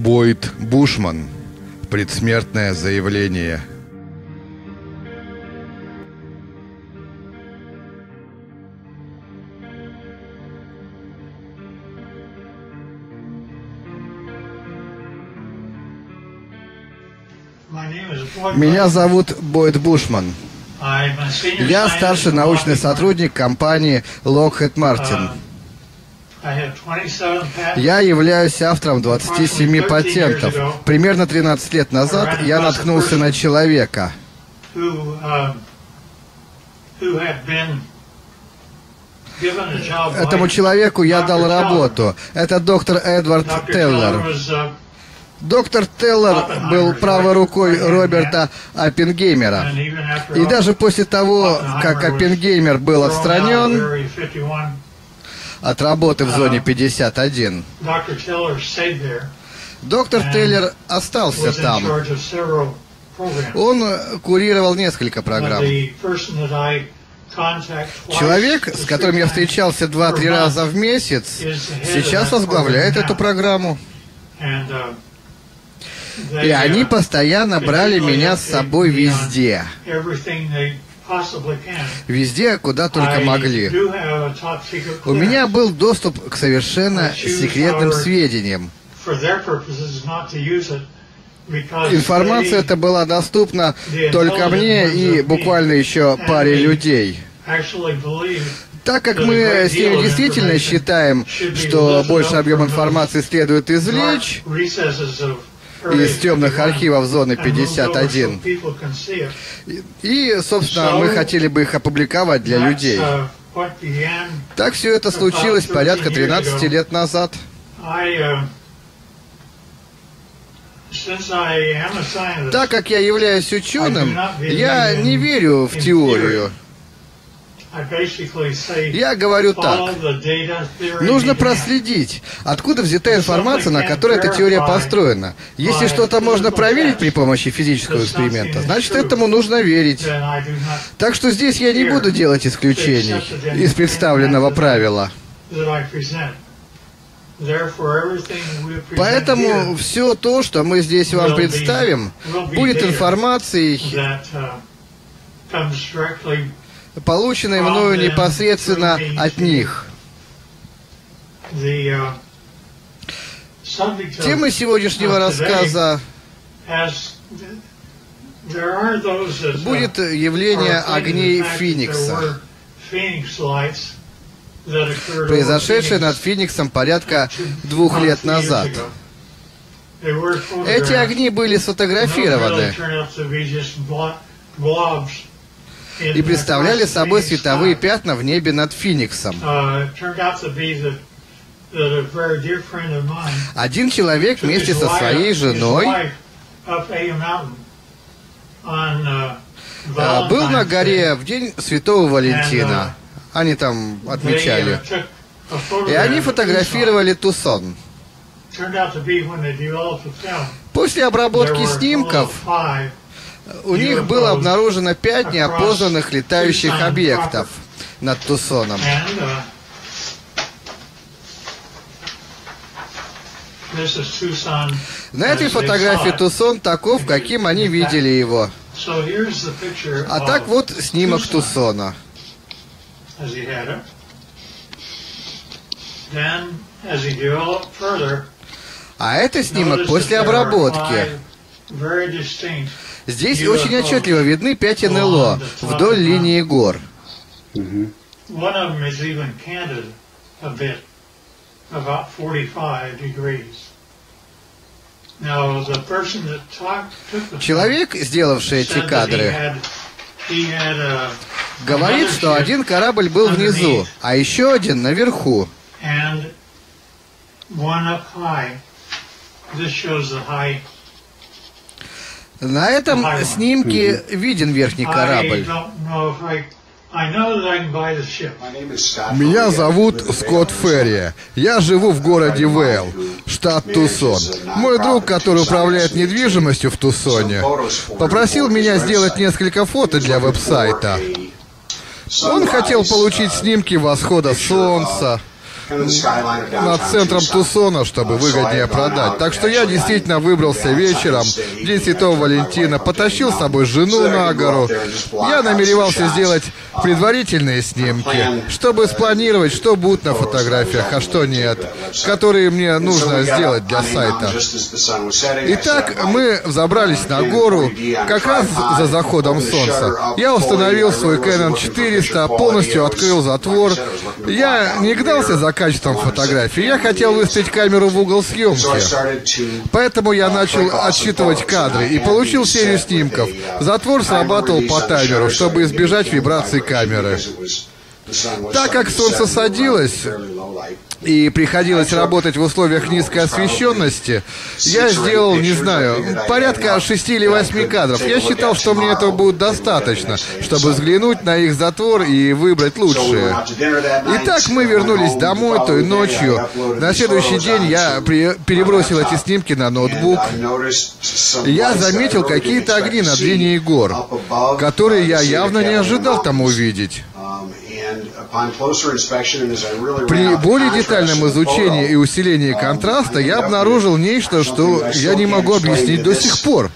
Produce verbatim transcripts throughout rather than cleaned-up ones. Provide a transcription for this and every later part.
Бойд Бушман. Предсмертное заявление. Меня зовут Бойд Бушман. Я старший научный сотрудник компании Lockheed Martin. Я являюсь автором двадцати семи патентов. Примерно тринадцать лет назад я наткнулся на человека, Этому человеку я дал работу. Это доктор Эдвард Теллер. Доктор Теллер был правой рукой Роберта Оппенгеймера. И даже после того, как Оппенгеймер был отстранен от работы в зоне пятьдесят один, доктор Теллер остался там. Он курировал несколько программ. Человек, с которым я встречался два-три раза в месяц, сейчас возглавляет эту программу. И они постоянно брали меня с собой везде. Везде, куда только могли. У меня был доступ к совершенно секретным сведениям. Информация эта была доступна только мне и буквально еще паре людей. Так как мы с ними действительно считаем, что больше объем информации следует извлечь из темных архивов зоны пятьдесят один. И, собственно, мы хотели бы их опубликовать для людей. Так все это случилось порядка тринадцати лет назад. Так как я являюсь ученым, я не верю в теорию. Я говорю так. Нужно проследить, откуда взята информация, на которой эта теория построена. Если что-то можно проверить при помощи физического эксперимента, значит, этому нужно верить. Так что здесь я не буду делать исключений из представленного правила. Поэтому все то, что мы здесь вам представим, будет информацией, полученной мною непосредственно от них. Тема сегодняшнего рассказа будет явление огней Феникса, произошедшее над Фениксом порядка двух лет назад. Эти огни были сфотографированы и представляли собой световые пятна в небе над Фениксом. Один человек вместе со своей женой был на горе в день Святого Валентина. Они там отмечали. И они фотографировали Тусон. После обработки снимков у них было обнаружено пять неопознанных летающих объектов над Тусоном. На этой фотографии Тусон таков, каким они видели его. А так вот снимок Тусона. А это снимок после обработки. Здесь очень отчетливо видны пять эн эл о вдоль линии гор. Человек, сделавший эти кадры, говорит, что один корабль был внизу, а еще один наверху. На этом снимке виден верхний корабль. Меня зовут Скотт Ферри. Я живу в городе Вейл, штат Тусон. Мой друг, который управляет недвижимостью в Тусоне, попросил меня сделать несколько фото для веб-сайта. Он хотел получить снимки восхода солнца, над центром Тусона, чтобы выгоднее продать. Так что я действительно выбрался вечером, в день Святого Валентина, потащил с собой жену на гору. Я намеревался сделать предварительные снимки, чтобы спланировать, что будет на фотографиях, а что нет, которые мне нужно сделать для сайта. Итак, мы взобрались на гору как раз за заходом солнца. Я установил свой Canon четыреста, полностью открыл затвор. Я не гнался за качеством фотографии, я хотел выставить камеру в угол съемки. Поэтому я начал отсчитывать кадры и получил серию снимков. Затвор срабатывал по таймеру, чтобы избежать вибраций камеры. Так как солнце садилось и приходилось работать в условиях низкой освещенности, я сделал, не знаю, порядка шести или восьми кадров. Я считал, что мне этого будет достаточно, чтобы взглянуть на их затвор и выбрать лучшие. Итак, мы вернулись домой той ночью. На следующий день я при... перебросил эти снимки на ноутбук. Я заметил какие-то огни над линией гор, которые я явно не ожидал там увидеть. При более детальном изучении и усилении контраста я обнаружил нечто, что я не могу объяснить до сих пор.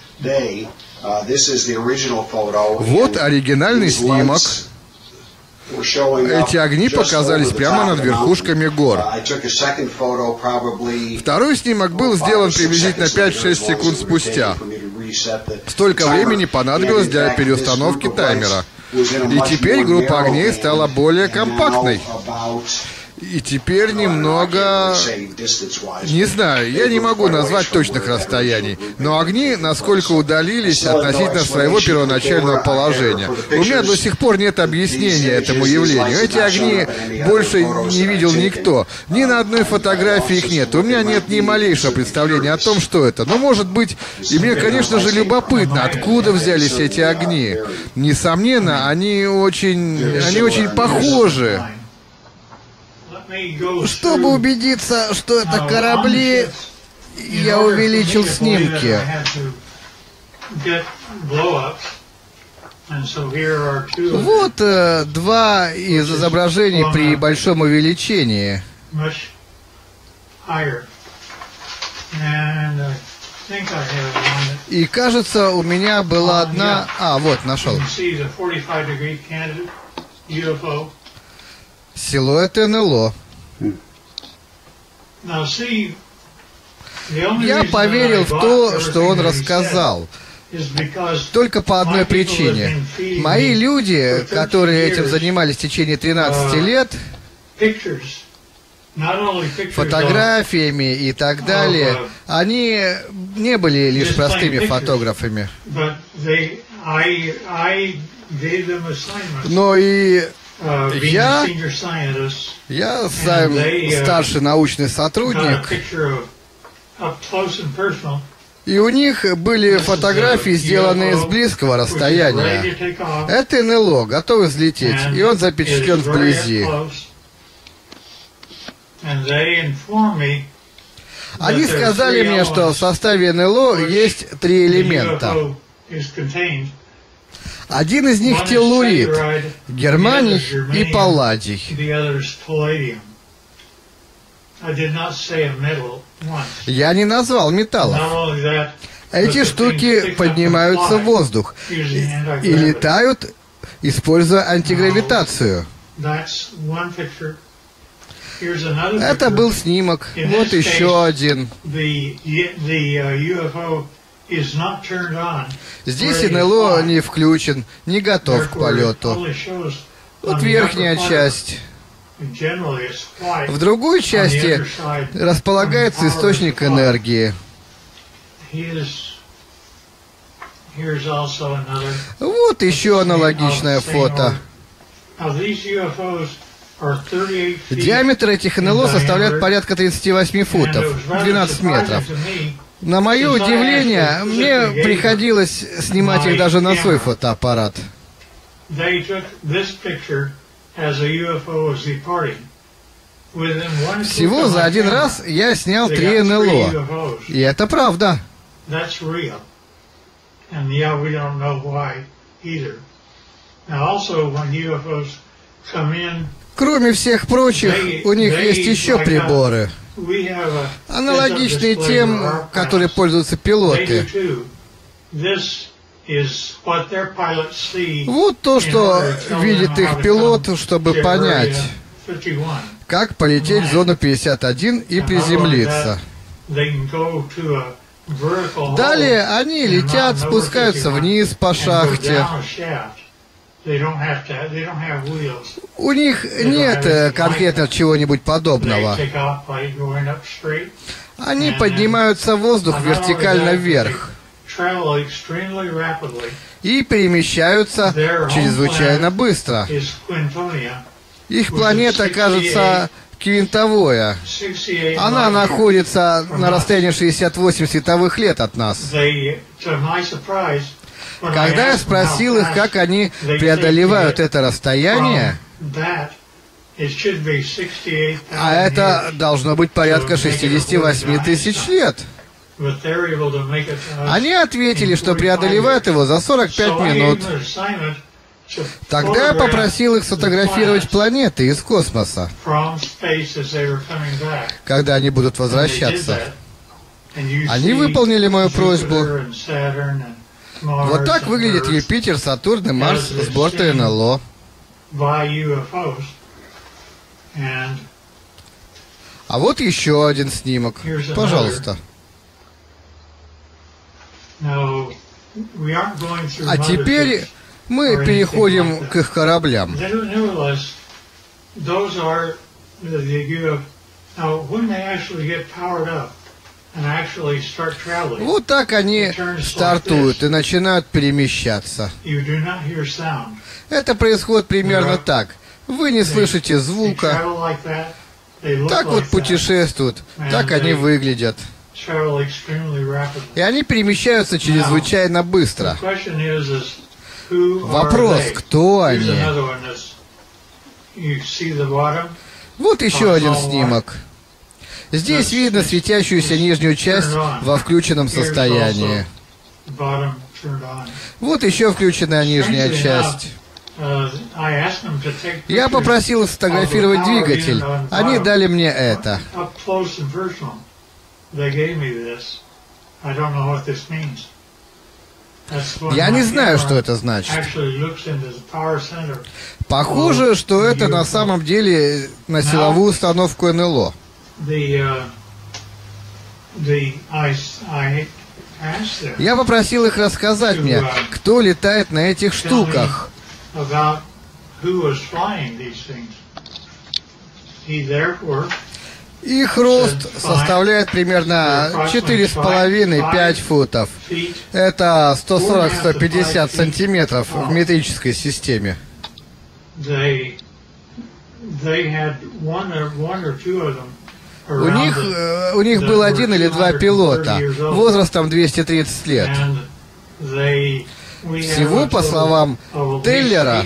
Вот оригинальный снимок. Эти огни показались прямо над верхушками гор. Второй снимок был сделан приблизительно пять-шесть секунд спустя. Столько времени понадобилось для переустановки таймера. И теперь группа огней стала более компактной. И теперь немного... Не знаю, я не могу назвать точных расстояний, но огни насколько удалились относительно своего первоначального положения. У меня до сих пор нет объяснения этому явлению. Эти огни больше не видел никто. Ни на одной фотографии их нет. У меня нет ни малейшего представления о том, что это. Но, может быть, и мне, конечно же, любопытно, откуда взялись эти огни. Несомненно, они очень... они очень похожи. Чтобы убедиться, что это корабли, я увеличил снимки. Вот э, два из изображений при большом увеличении. И кажется, у меня была одна... А, вот, нашел. Силуэт эн эл о. Я поверил в то, что он рассказал, только по одной причине. Мои люди, которые этим занимались в течение тринадцати лет, фотографиями и так далее, они не были лишь простыми фотографами. Но и Я, я сам старший научный сотрудник, и у них были фотографии, сделанные с близкого расстояния. Это эн эл о, готов взлететь, и он запечатлен вблизи. Они сказали мне, что в составе эн эл о есть три элемента. Один из них теллурид, германий и палладий. Я не назвал металлов. Эти штуки поднимаются в воздух и, и летают, используя антигравитацию. Это был снимок. Вот еще один. Здесь эн эл о не включен, не готов к полету. Вот верхняя часть. В другой части располагается источник энергии. Вот еще аналогичное фото. Диаметр этих эн эл о составляет порядка тридцати восьми футов, двенадцать метров. На мое удивление, мне приходилось снимать их даже на свой фотоаппарат. Всего за один раз я снял три эн эл о. И это правда. Кроме всех прочих, у них есть еще приборы, аналогичные тем, которые пользуются пилоты. Вот то, что видит их пилот, чтобы понять, как полететь в зону пятьдесят один и приземлиться. Далее они летят, спускаются вниз по шахте. У них нет конкретно чего-нибудь подобного. Они поднимаются в воздух вертикально вверх и перемещаются чрезвычайно быстро. Их планета, кажется, квинтовая. Она находится на расстоянии шестьдесят восемь световых лет от нас. Когда я спросил их, как они преодолевают это расстояние, а это должно быть порядка шестидесяти восьми тысяч лет, они ответили, что преодолевают его за сорок пять минут. Тогда я попросил их сфотографировать планеты из космоса, когда они будут возвращаться. Они выполнили мою просьбу. Вот так выглядит Юпитер, Сатурн и Марс с борта эн эл о. А вот еще один снимок. Пожалуйста. А теперь мы переходим к их кораблям. Вот так они стартуют и начинают перемещаться. Это происходит примерно так. Вы не слышите звука. Так вот путешествуют. Так они выглядят. И они перемещаются чрезвычайно быстро. Вопрос, кто они? Вот еще один снимок. Здесь видно светящуюся нижнюю часть во включенном состоянии. Вот еще включенная нижняя часть. Я попросил сфотографировать двигатель. Они дали мне это. Я не знаю, что это значит. Похоже, что это на самом деле на силовую установку эн эл о. Я попросил их рассказать мне, кто летает на этих штуках. Их рост составляет примерно четыре с половиной — пять футов. Это сто сорок — сто пятьдесят сантиметров в метрической системе. У них, у них был один или два пилота, возрастом двести тридцать лет. Всего, по словам Теллера,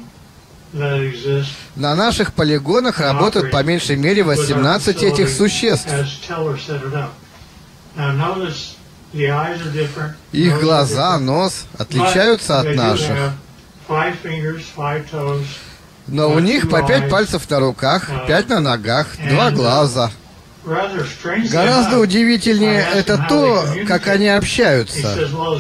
на наших полигонах работают по меньшей мере восемнадцать этих существ. Их глаза, нос отличаются от наших. Но у них по пять пальцев на руках, пять на ногах, два глаза. Гораздо удивительнее это то, как они общаются.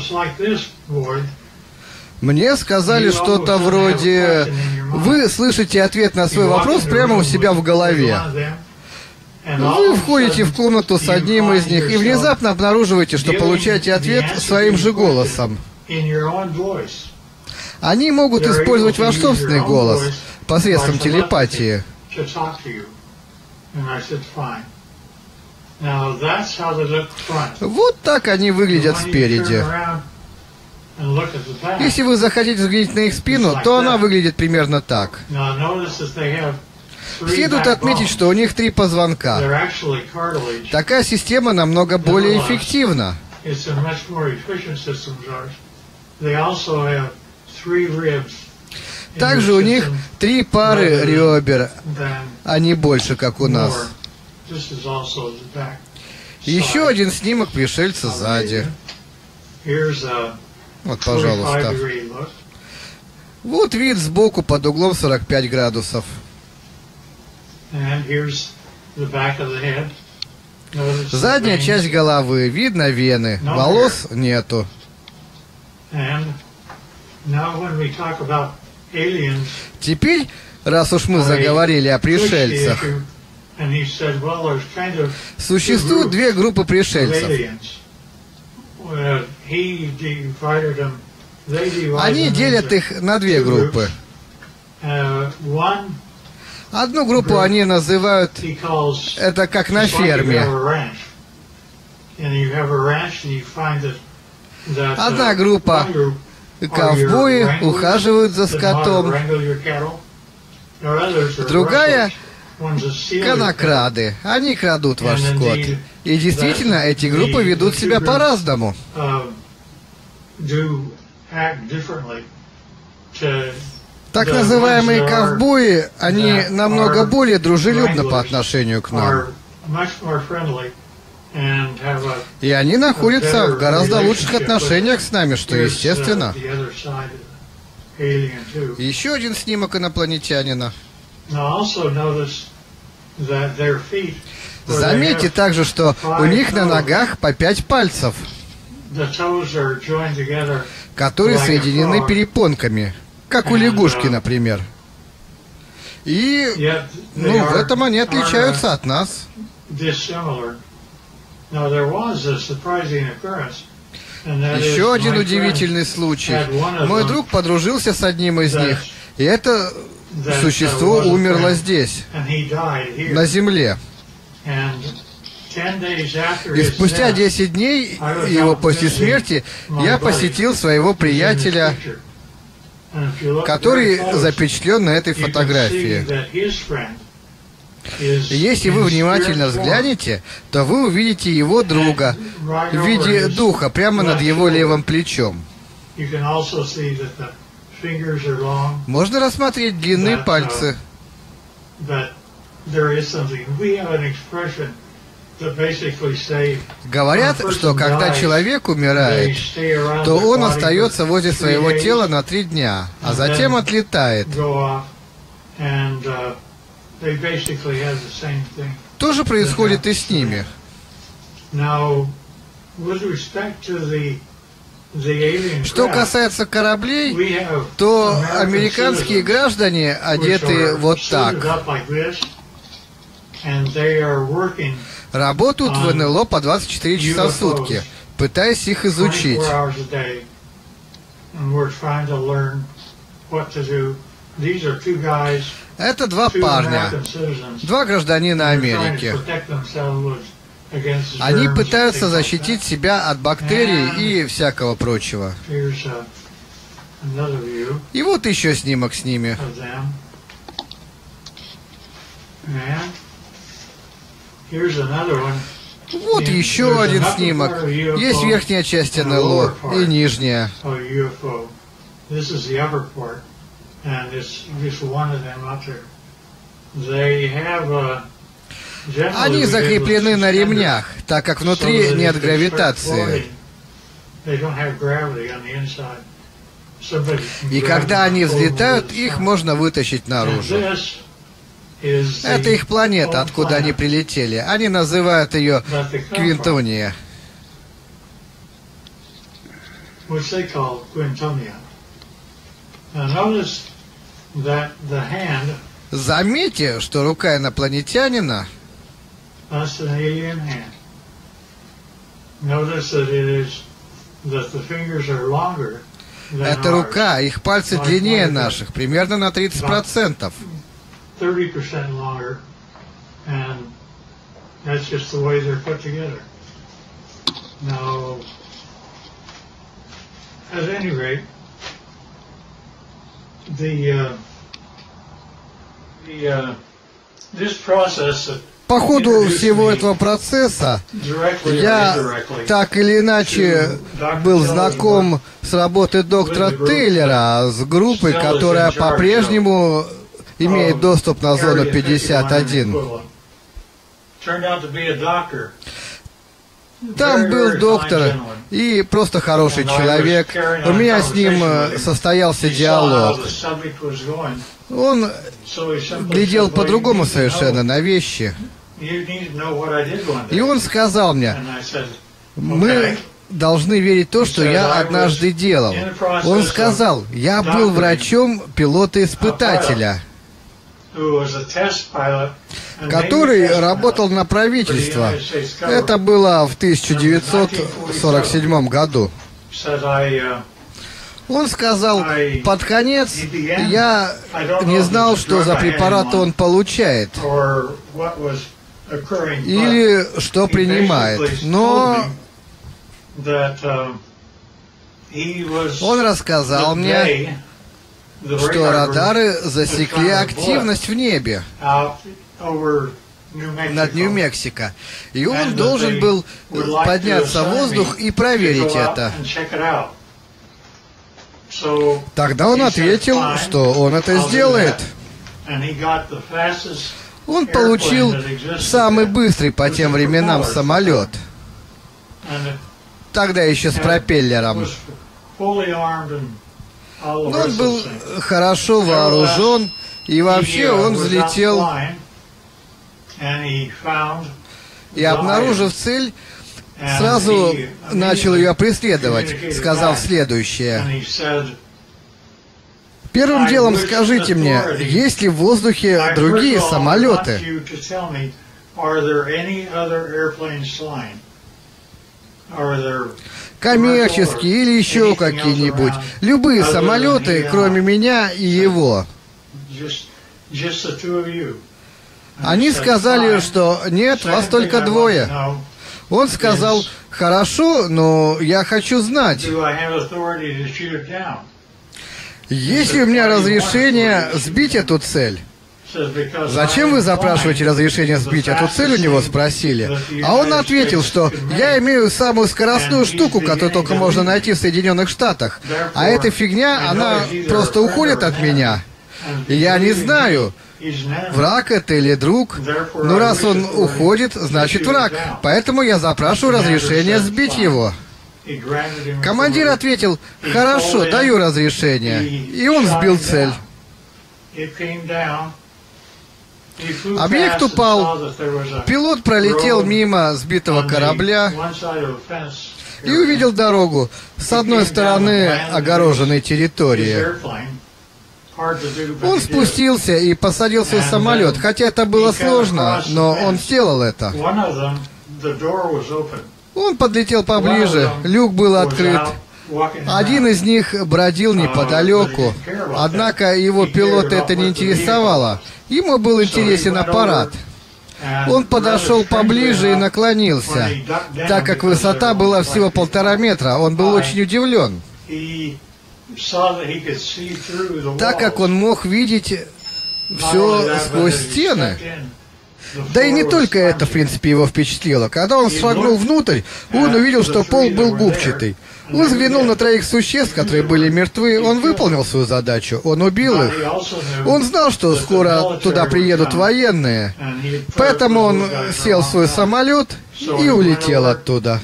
Мне сказали что-то вроде: вы слышите ответ на свой вопрос прямо у себя в голове. Вы входите в комнату с одним из них и внезапно обнаруживаете, что получаете ответ своим же голосом. Они могут использовать ваш собственный голос посредством телепатии. Вот так они выглядят спереди. Если вы захотите взглянуть на их спину, то она выглядит примерно так. Следует отметить, что у них три позвонка. Такая система намного более эффективна. Также у них три пары ребер, а не больше, как у нас. Еще один снимок пришельца сзади. Вот, пожалуйста. Вот вид сбоку под углом сорок пять градусов. Задняя часть головы, видно вены, волос нету. Теперь, раз уж мы заговорили о пришельцах, существует две группы пришельцев. Они делят их на две группы. Одну группу они называют, это как на ферме. Одна группа ковбои ухаживают за скотом. Другая конокрады. Они крадут ваш скот. И действительно, эти группы ведут себя по-разному. Так называемые ковбои, они намного более дружелюбны по отношению к нам. И они находятся в гораздо лучших отношениях с нами, что естественно. Еще один снимок инопланетянина. Заметьте также, что у них на ногах по пять пальцев, которые соединены перепонками, как у лягушки, например. И, ну, в этом они отличаются от нас. Еще один удивительный случай. Мой друг подружился с одним из них, и это существо умерло здесь, на Земле. И спустя десять дней его после смерти я посетил своего приятеля, который запечатлен на этой фотографии. Если вы внимательно взглянете, то вы увидите его друга в виде духа прямо над его левым плечом. Можно рассмотреть длинные пальцы. Говорят, что когда человек умирает, то он остается возле своего тела на три дня, а затем отлетает. То же происходит и с ними. Что касается кораблей, то американские граждане одеты вот так. Работают в эн эл о по двадцать четыре часа в сутки, пытаясь их изучить. Это два парня, два гражданина Америки. Они пытаются защитить себя от бактерий и всякого прочего. И вот еще снимок с ними. Вот еще один снимок. Есть верхняя часть эн эл о и нижняя. Они закреплены на ремнях, так как внутри нет гравитации. И когда они взлетают, их можно вытащить наружу. Это их планета, откуда они прилетели. Они называют ее Квинтония. Заметьте, что рука инопланетянина это рука, их пальцы длиннее наших, примерно на тридцать процентов. По ходу всего этого процесса я так или иначе был знаком с работой доктора Тейлора, с группой, которая по-прежнему имеет доступ на зону Там был доктор и просто хороший человек. У меня с ним состоялся диалог. Он глядел по-другому совершенно на вещи. И он сказал мне: мы должны верить в то, что я однажды делал. Он сказал: я был врачом пилота-испытателя, который работал на правительство. Это было в тысяча девятьсот сорок седьмом году. Он сказал: под конец я не знал, что за препарат он получает или что принимает, но он рассказал мне, что радары засекли активность в небе над Нью-Мексико, и он должен был подняться в воздух и проверить это. Тогда он ответил, что он это сделает. Он получил самый быстрый по тем временам самолет, тогда еще с пропеллером. Но он был хорошо вооружен, и вообще он взлетел и, обнаружив цель, сразу начал ее преследовать, сказав следующее: первым делом скажите мне, есть ли в воздухе другие самолеты? Коммерческие или еще какие-нибудь. Любые самолеты, кроме меня и его. Они сказали, что нет, вас только двое. Он сказал: хорошо, но я хочу знать, есть ли у меня разрешение сбить эту цель? Зачем вы запрашиваете разрешение сбить эту цель, у него спросили. А он ответил, что я имею самую скоростную штуку, которую только можно найти в Соединенных Штатах. А эта фигня, она просто уходит от меня. И я не знаю, враг это или друг. Но раз он уходит, значит враг. Поэтому я запрашиваю разрешение сбить его. Командир ответил: хорошо, даю разрешение. И он сбил цель. Объект упал. Пилот пролетел мимо сбитого корабля и увидел дорогу с одной стороны огороженной территории. Он спустился и посадил свой самолет, хотя это было сложно, но он сделал это. Он подлетел поближе, люк был открыт. Один из них бродил неподалеку, однако его пилота это не интересовало. Ему был интересен аппарат. Он подошел поближе и наклонился. Так как высота была всего полтора метра, он был очень удивлен, так как он мог видеть все сквозь стены. Да и не только это, в принципе, его впечатлило. Когда он шагнул внутрь, он увидел, что пол был губчатый. Он взглянул на троих существ, которые были мертвы. Он выполнил свою задачу. Он убил их. Он знал, что скоро туда приедут военные. Поэтому он сел в свой самолет и улетел оттуда.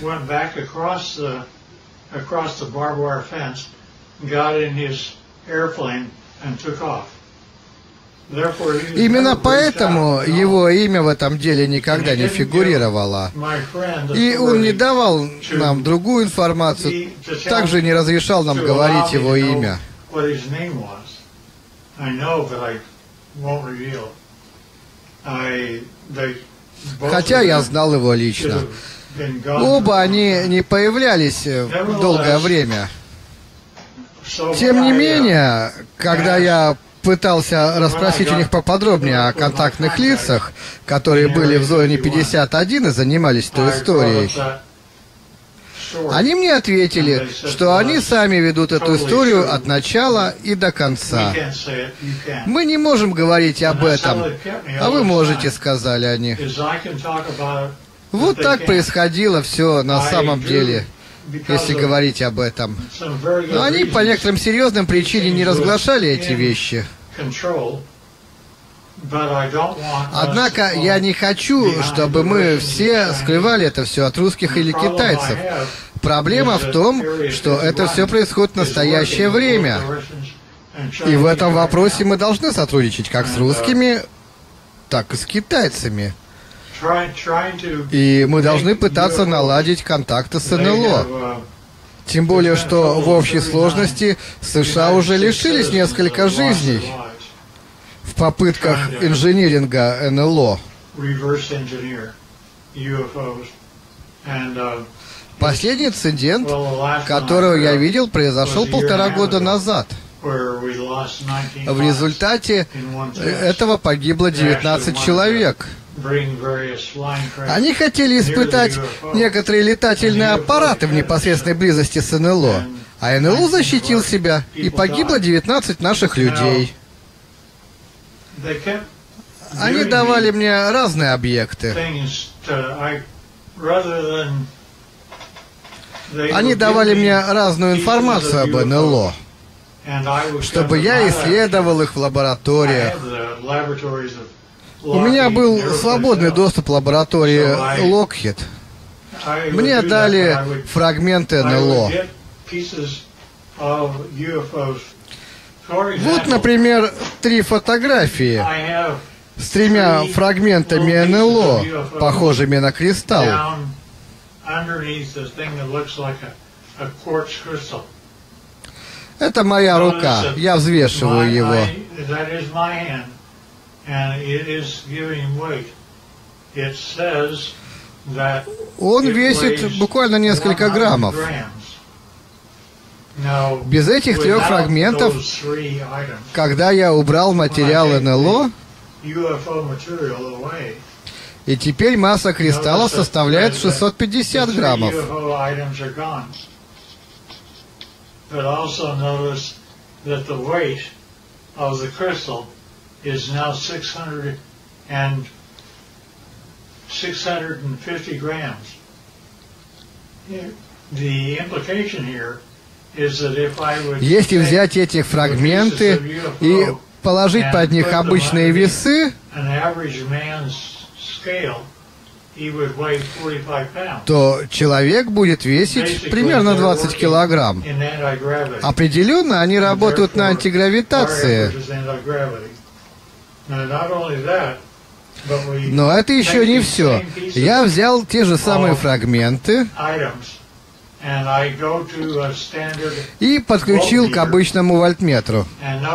Именно поэтому его имя в этом деле никогда не фигурировало. И он не давал нам другую информацию, также не разрешал нам говорить его имя. Хотя я знал его лично. Оба они не появлялись долгое время. Тем не менее, когда я пытался расспросить у них поподробнее о контактных лицах, которые были в зоне пятьдесят один и занимались той историей, они мне ответили, что они сами ведут эту историю от начала и до конца. Мы не можем говорить об этом, а вы можете, сказали они. Вот так происходило все на самом деле, если говорить об этом. Но они по некоторым серьезным причинам не разглашали эти вещи. Однако я не хочу, чтобы мы все скрывали это все от русских или китайцев. Проблема в том, что это все происходит в настоящее время. И в этом вопросе мы должны сотрудничать как с русскими, так и с китайцами. И мы должны пытаться наладить контакты с эн эл о. Тем более, что в общей сложности США уже лишились несколько жизней в попытках инжиниринга эн эл о. Последний инцидент, которого я видел, произошел полтора года назад. В результате этого погибло девятнадцать человек. Они хотели испытать некоторые летательные аппараты в непосредственной близости с эн эл о, а эн эл о защитил себя, и погибло девятнадцать наших людей. Они давали мне разные объекты. Они давали мне разную информацию об эн эл о, чтобы я исследовал их в лабораториях. У меня был свободный доступ в лаборатории Lockheed. Мне дали фрагменты эн эл о. Вот, например, три фотографии с тремя фрагментами эн эл о, похожими на кристалл. Это моя рука, я взвешиваю его. Он весит буквально несколько граммов. Без этих трех фрагментов, когда я убрал материал эн эл о, и теперь масса кристалла составляет шестьсот пятьдесят граммов. Is now six hundred fifty grams. The implication here is that if I would Если взять эти фрагменты и положить под них обычные весы, то человек будет весить примерно двадцать килограмм. Определенно, они работают на антигравитации. Но это еще не все. Я взял те же самые фрагменты и подключил к обычному вольтметру.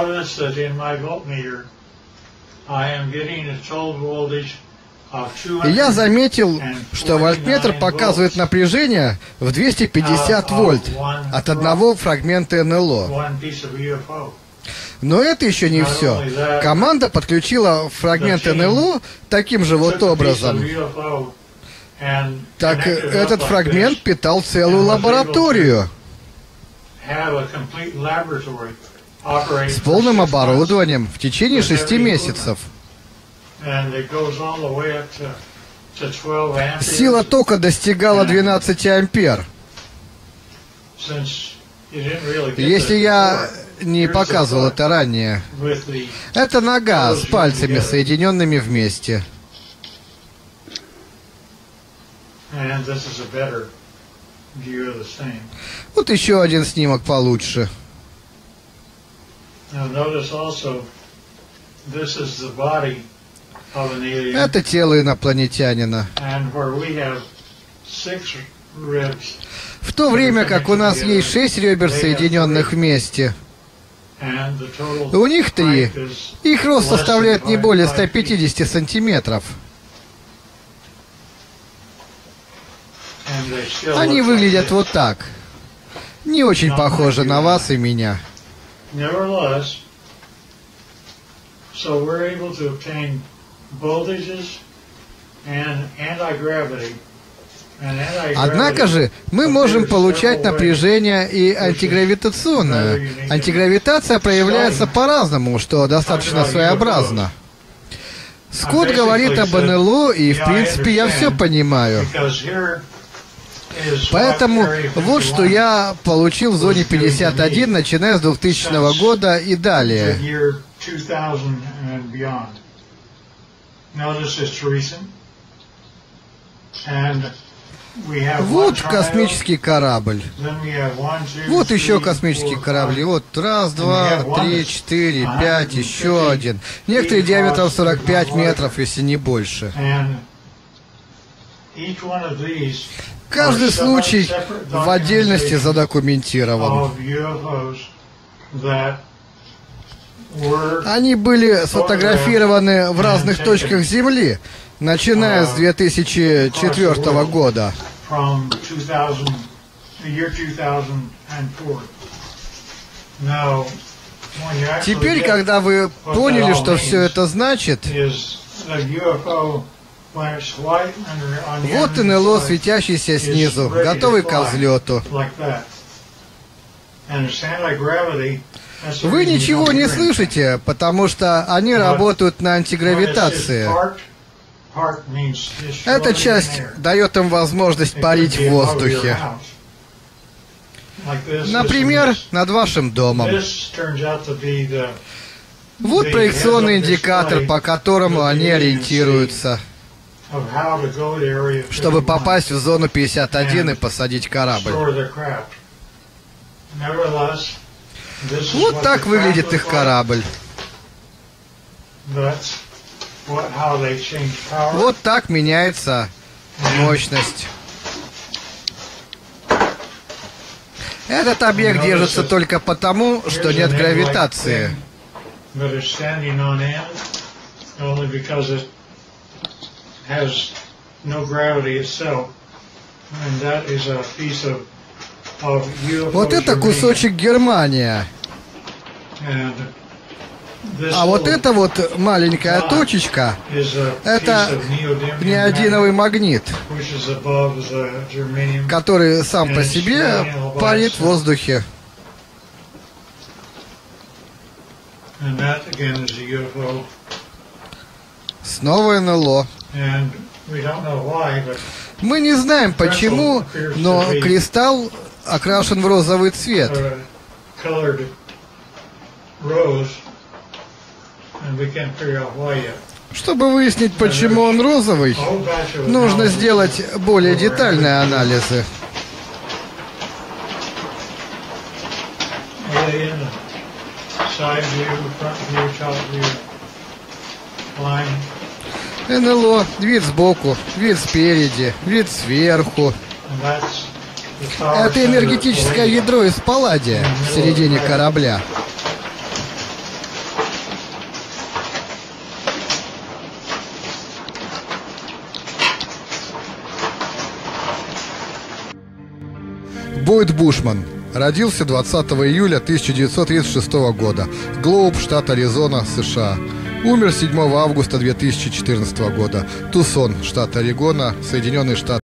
И я заметил, что вольтметр показывает напряжение в двести пятьдесят вольт от одного фрагмента эн эл о. Но это еще не все. Команда подключила фрагмент эн эл о таким же вот образом. Так этот фрагмент питал целую лабораторию с полным оборудованием в течение шести месяцев. Сила тока достигала двенадцати ампер. Если я не показывал это ранее, это нога с пальцами, соединенными вместе. Вот еще один снимок получше. Это тело инопланетянина. В то время как у нас есть шесть ребер, соединенных вместе, у них три. Их рост составляет не более ста пятидесяти сантиметров. Они выглядят вот так. Не очень похожи на вас и меня. Однако же мы можем получать напряжение и антигравитационное. Антигравитация проявляется по-разному, что достаточно своеобразно. Скотт говорит об эн эл о, и в принципе я все понимаю. Поэтому вот что я получил в зоне пятьдесят один, начиная с двухтысячного года и далее. Вот космический корабль. Вот еще космический корабль. Вот раз, два, три, четыре, пять, еще один. Некоторые диаметром сорок пять метров, если не больше. Каждый случай в отдельности задокументирован. Они были сфотографированы в разных точках Земли, начиная с две тысячи четвёртого года. Теперь, когда вы поняли, что все это значит, вот эн эл о, светящийся снизу, готовый к взлету. Вы ничего не слышите, потому что они работают на антигравитации. Эта часть дает им возможность парить в воздухе. Например, над вашим домом. Вот проекционный индикатор, по которому они ориентируются, чтобы попасть в зону пятьдесят один и посадить корабль. Вот так выглядит их корабль. Вот так меняется мощность. Этот объект держится только потому, что нет гравитации. Вот это кусочек Германия. А вот эта вот маленькая точечка, это неодиновый магнит, который сам по себе парит в воздухе. Снова эн эл о. Мы не знаем почему, но кристалл окрашен в розовый цвет. Чтобы выяснить, почему он розовый, нужно сделать более детальные анализы. эн эл о, вид сбоку, вид спереди, вид сверху. Это энергетическое ядро из палладия в середине корабля. Бойд Бушман родился двадцатого июля тысяча девятьсот тридцать шестого года. Глоуб, штат Аризона, США. Умер седьмого августа две тысячи четырнадцатого года. Тусон, штат Орегона, Соединенные Штаты.